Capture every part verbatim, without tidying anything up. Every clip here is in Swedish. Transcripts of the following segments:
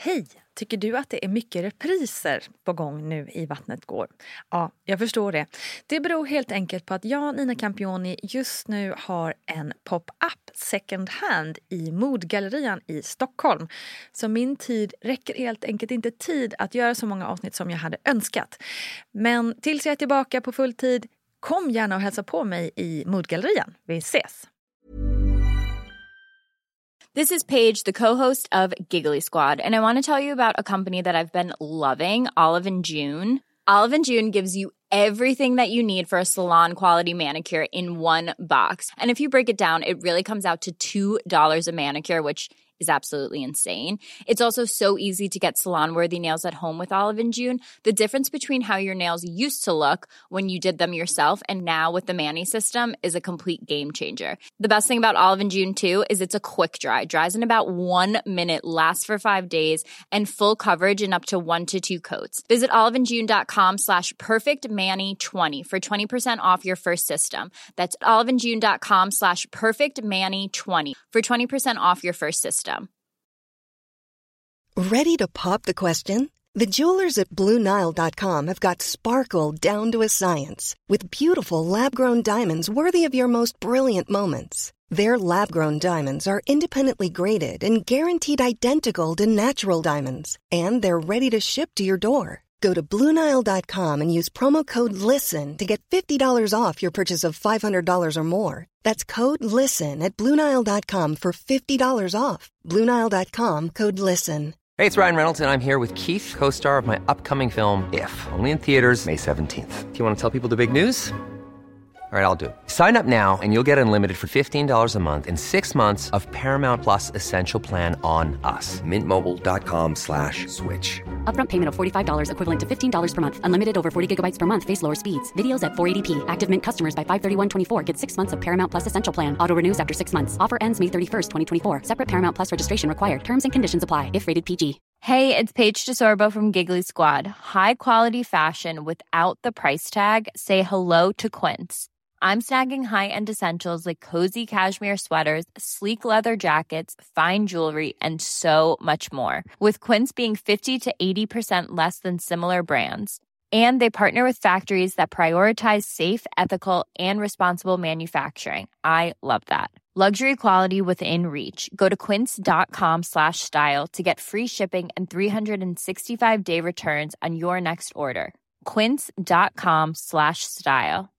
Hej! Tycker du att det är mycket repriser på gång nu i Vattnet går? Ja, jag förstår det. Det beror helt enkelt på att jag, Nina Campioni, just nu har en pop-up second hand i Modgallerian i Stockholm. Så min tid räcker helt enkelt inte tid att göra så många avsnitt som jag hade önskat. Men tills jag är tillbaka på full tid, kom gärna och hälsa på mig i Modgallerian. Vi ses! This is Paige, the co-host of Giggly Squad, and I want to tell you about a company that I've been loving, Olive and June. Olive and June gives you everything that you need for a salon-quality manicure in one box. And if you break it down, it really comes out to two dollars a manicure, which is absolutely insane. It's also so easy to get salon-worthy nails at home with Olive and June. The difference between how your nails used to look when you did them yourself and now with the Mani system is a complete game changer. The best thing about Olive and June too is it's a quick dry. Dries in about one minute, lasts for five days, and full coverage in up to one to two coats. Visit oliveandjune.com slash perfectmani20 for twenty percent off your first system. That's oliveandjune.com slash perfectmani20 for twenty percent off your first system. Ready to pop the question? The jewelers at Blue Nile dot com have got sparkle down to a science with beautiful lab-grown diamonds worthy of your most brilliant moments. Their lab-grown diamonds are independently graded and guaranteed identical to natural diamonds, and they're ready to ship to your door. Go to Blue Nile dot com and use promo code LISTEN to get fifty dollars off your purchase of five hundred dollars or more. That's code LISTEN at Blue Nile dot com for fifty dollars off. Blue Nile dot com, code LISTEN. Hey, it's Ryan Reynolds, and I'm here with Keith, co-star of my upcoming film, If, only in theaters May seventeenth. Do you want to tell people the big news? All right, I'll do it. Sign up now and you'll get unlimited for fifteen dollars a month and six months of Paramount Plus Essential Plan on us. Mint Mobile dot com slash switch. Upfront payment of forty-five dollars equivalent to fifteen dollars per month. Unlimited over forty gigabytes per month. Face lower speeds. Videos at four eighty p. Active Mint customers by five thirty-one twenty-four get six months of Paramount Plus Essential Plan. Auto renews after six months. Offer ends May thirty-first, twenty twenty-four. Separate Paramount Plus registration required. Terms and conditions apply if rated P G. Hey, it's Paige DeSorbo from Giggly Squad. High quality fashion without the price tag. Say hello to Quince. I'm snagging high-end essentials like cozy cashmere sweaters, sleek leather jackets, fine jewelry, and so much more. With Quince being fifty to eighty percent less than similar brands. And they partner with factories that prioritize safe, ethical, and responsible manufacturing. I love that. Luxury quality within reach. Go to quince.com slash style to get free shipping and three sixty-five day returns on your next order. Quince.com slash style.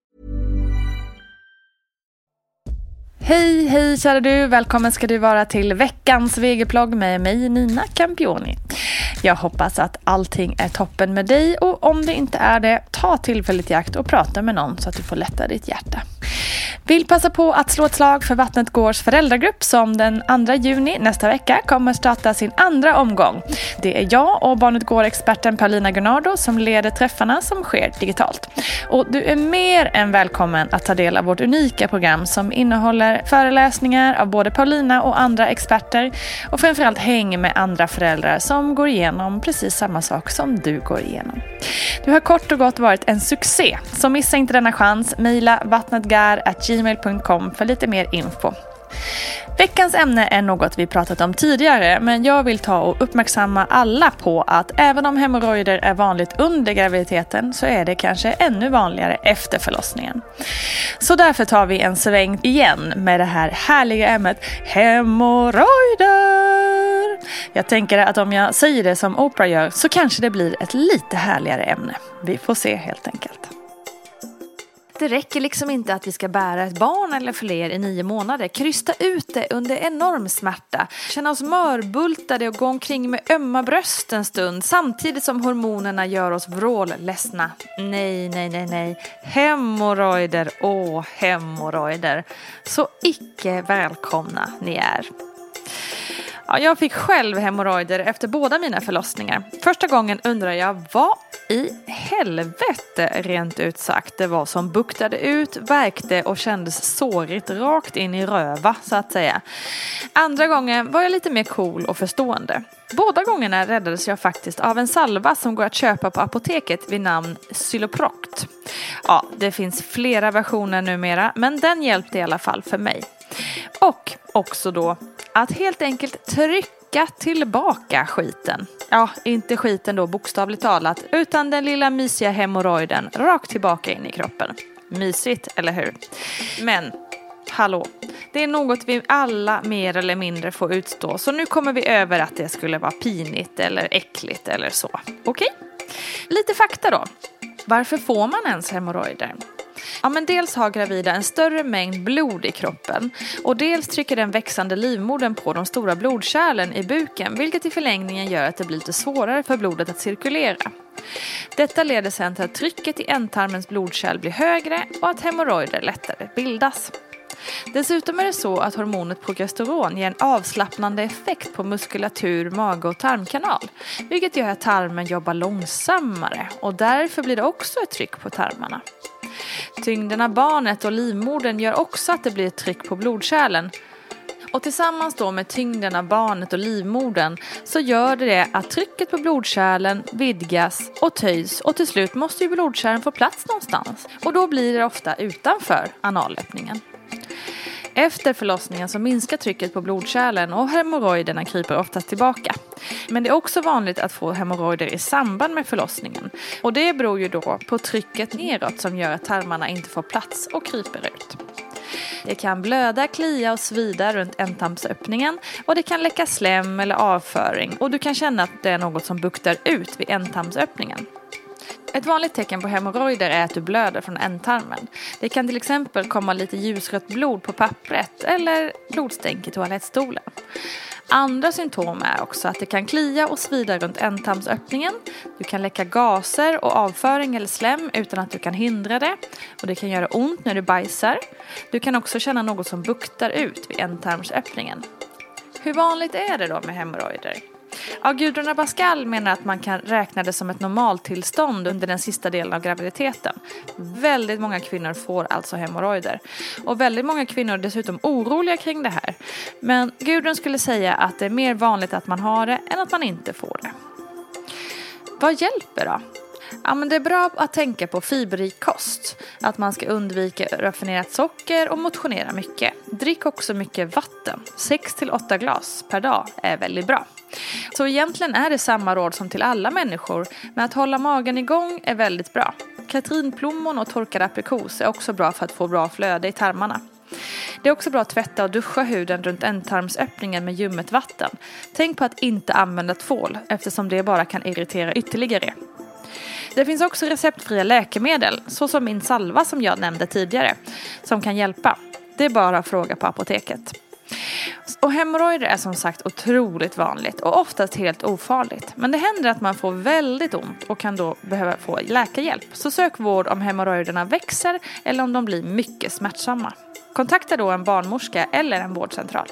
Hej, hej kära du. Välkommen ska du vara till veckans V G-plogg med mig, Nina Campioni. Jag hoppas att allting är toppen med dig, och om det inte är det, ta tillfälligt i akt och prata med någon så att du får lätta ditt hjärta. Vill passa på att slå ett slag för Vattnet Gårs föräldragrupp som den andra juni nästa vecka kommer starta sin andra omgång. Det är jag och Barnet Går-experten Paulina Gunnardo som leder träffarna som sker digitalt. Och du är mer än välkommen att ta del av vårt unika program som innehåller föreläsningar av både Paulina och andra experter, och framförallt häng med andra föräldrar som går igenom precis samma sak som du går igenom. Du har kort och gott varit en succé, så missa inte denna chans. Maila vattnetgar at gmail dot com för lite mer info. Veckans ämne är något vi pratat om tidigare, men jag vill ta och uppmärksamma alla på att även om hemorrojder är vanligt under graviditeten så är det kanske ännu vanligare efter förlossningen. Så därför tar vi en sväng igen med det här härliga ämnet hemorrojder. Jag tänker att om jag säger det som Oprah gör så kanske det blir ett lite härligare ämne. Vi får se helt enkelt. Det räcker liksom inte att vi ska bära ett barn eller fler i nio månader. Krysta ut det under enorm smärta. Känna oss mörbultade och gå omkring med ömma bröst en stund. Samtidigt som hormonerna gör oss vrålledsna. Nej, nej, nej, nej. Hemorrojder, åh hemorrojder. Så icke välkomna ni är. Ja, jag fick själv hemorrojder efter båda mina förlossningar. Första gången undrar jag vad i helvete rent ut sagt det var som buktade ut, verkte och kändes sårigt rakt in i röva så att säga. Andra gången var jag lite mer cool och förstående. Båda gångerna räddades jag faktiskt av en salva som går att köpa på apoteket vid namn Zyloproct. Ja, det finns flera versioner numera, men den hjälpte i alla fall för mig. Och också då att helt enkelt trycka Skicka tillbaka skiten. Ja, inte skiten då bokstavligt talat, utan den lilla mysiga hemorrojden rakt tillbaka in i kroppen. Mysigt, eller hur? Men, hallå, det är något vi alla mer eller mindre får utstå, så nu kommer vi över att det skulle vara pinigt eller äckligt eller så. Okej? Lite fakta då. Varför får man ens hemorrojder? Ja, men dels har gravida en större mängd blod i kroppen och dels trycker den växande livmodern på de stora blodkärlen i buken, vilket i förlängningen gör att det blir lite svårare för blodet att cirkulera. Detta leder sedan till att trycket i ändtarmens blodkärl blir högre och att hemorrojder lättare bildas. Dessutom är det så att hormonet progesteron ger en avslappnande effekt på muskulatur, mage och tarmkanal, vilket gör att tarmen jobbar långsammare och därför blir det också ett tryck på tarmarna. Tyngden av barnet och livmodern gör också att det blir ett tryck på blodkärlen. Och tillsammans då med tyngden av barnet och livmodern så gör det att trycket på blodkärlen vidgas och töjs och till slut måste ju blodkärlen få plats någonstans. Och då blir det ofta utanför analöppningen. Efter förlossningen så minskar trycket på blodkärlen och hemorrojderna kryper oftast tillbaka. Men det är också vanligt att få hemorrojder i samband med förlossningen. Och det beror ju då på trycket neråt som gör att tarmarna inte får plats och kryper ut. Det kan blöda, klia och svida runt ändtarmsöppningen och det kan läcka slem eller avföring och du kan känna att det är något som buktar ut vid ändtarmsöppningen. Ett vanligt tecken på hemorrojder är att du blöder från ändtarmen. Det kan till exempel komma lite ljusrött blod på pappret eller blodstänk i toalettstolen. Andra symptom är också att det kan klia och svida runt ändtarmsöppningen. Du kan läcka gaser och avföring eller slem utan att du kan hindra det. Och det kan göra ont när du bajsar. Du kan också känna något som buktar ut vid ändtarmsöppningen. Hur vanligt är det då med hemorrojder? Ja, Gudrun Abascal menar att man kan räkna det som ett normaltillstånd under den sista delen av graviditeten. Väldigt många kvinnor får alltså hemorrojder. Och väldigt många kvinnor är dessutom oroliga kring det här. Men Gudrun skulle säga att det är mer vanligt att man har det än att man inte får det. Vad hjälper då? Ja, men det är bra att tänka på fiberrik kost. Att man ska undvika raffinerat socker och motionera mycket. Drick också mycket vatten. sex till åtta glas per dag är väldigt bra. Så egentligen är det samma råd som till alla människor. Men att hålla magen igång är väldigt bra. Katrinplommon och torkad aprikos är också bra för att få bra flöde i tarmarna. Det är också bra att tvätta och duscha huden runt ändtarmsöppningen med ljummet vatten. Tänk på att inte använda tvål eftersom det bara kan irritera ytterligare. Det finns också receptfria läkemedel, såsom min salva som jag nämnde tidigare, som kan hjälpa. Det är bara att fråga på apoteket. Och hemorrojder är som sagt otroligt vanligt och oftast helt ofarligt. Men det händer att man får väldigt ont och kan då behöva få läkarhjälp. Så sök vård om hemorrojderna växer eller om de blir mycket smärtsamma. Kontakta då en barnmorska eller en vårdcentral.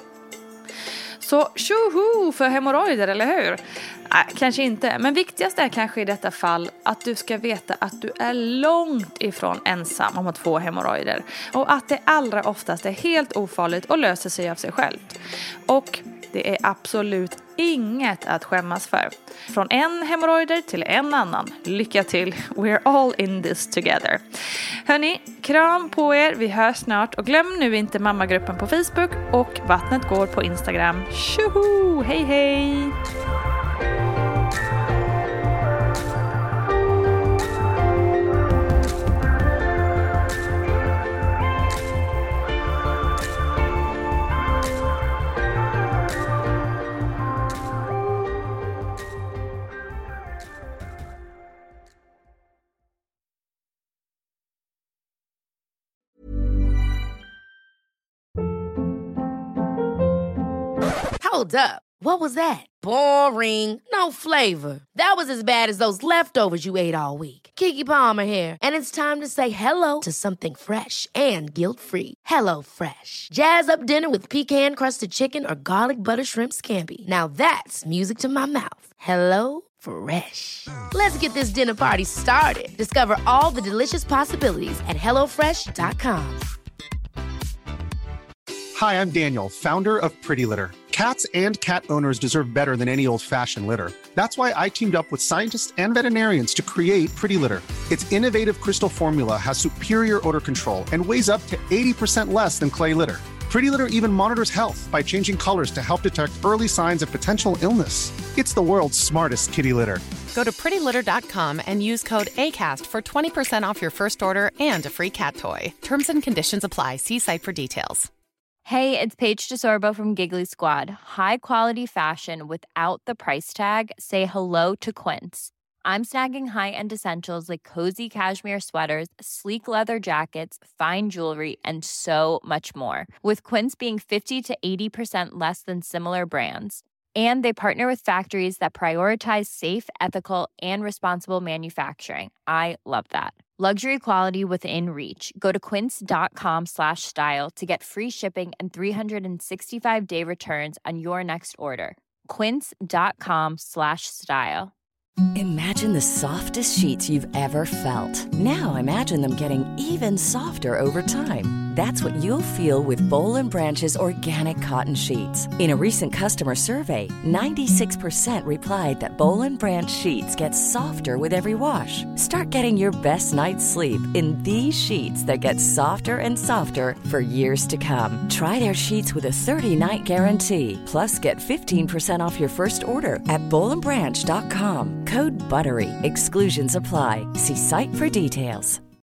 Så tjoho för hemorrojder, eller hur? Nej, kanske inte. Men viktigast är kanske i detta fall att du ska veta att du är långt ifrån ensam om att få hemorrojder. Och att det allra oftast är helt ofarligt och löser sig av sig självt. Och det är absolut inget att skämmas för. Från en hemorrojder till en annan. Lycka till. We're all in this together. Hörni, kram på er. Vi hörs snart. Och glöm nu inte mammagruppen på Facebook och Vattnet går på Instagram. Tjoho! Hej hej! Hold up. What was that? Boring. No flavor. That was as bad as those leftovers you ate all week. Keke Palmer here, and it's time to say hello to something fresh and guilt-free. Hello Fresh. Jazz up dinner with pecan-crusted chicken or garlic butter shrimp scampi. Now that's music to my mouth. Hello Fresh. Let's get this dinner party started. Discover all the delicious possibilities at hello fresh dot com. Hi, I'm Daniel, founder of Pretty Litter. Cats and cat owners deserve better than any old-fashioned litter. That's why I teamed up with scientists and veterinarians to create Pretty Litter. Its innovative crystal formula has superior odor control and weighs up to eighty percent less than clay litter. Pretty Litter even monitors health by changing colors to help detect early signs of potential illness. It's the world's smartest kitty litter. Go to pretty litter dot com and use code ACAST for twenty percent off your first order and a free cat toy. Terms and conditions apply. See site for details. Hey, it's Paige DeSorbo from Giggly Squad. High quality fashion without the price tag. Say hello to Quince. I'm snagging high-end essentials like cozy cashmere sweaters, sleek leather jackets, fine jewelry, and so much more. With Quince being fifty to eighty percent less than similar brands. And they partner with factories that prioritize safe, ethical, and responsible manufacturing. I love that. Luxury quality within reach. Go to quince.com slash style to get free shipping and three sixty-five day returns on your next order. Quince.com slash style. Imagine the softest sheets you've ever felt. Now imagine them getting even softer over time. That's what you'll feel with Boll and Branch's organic cotton sheets. In a recent customer survey, ninety-six percent replied that Boll and Branch sheets get softer with every wash. Start getting your best night's sleep in these sheets that get softer and softer for years to come. Try their sheets with a thirty-night guarantee. Plus, get fifteen percent off your first order at boll and branch dot com. Code BUTTERY. Exclusions apply. See site for details.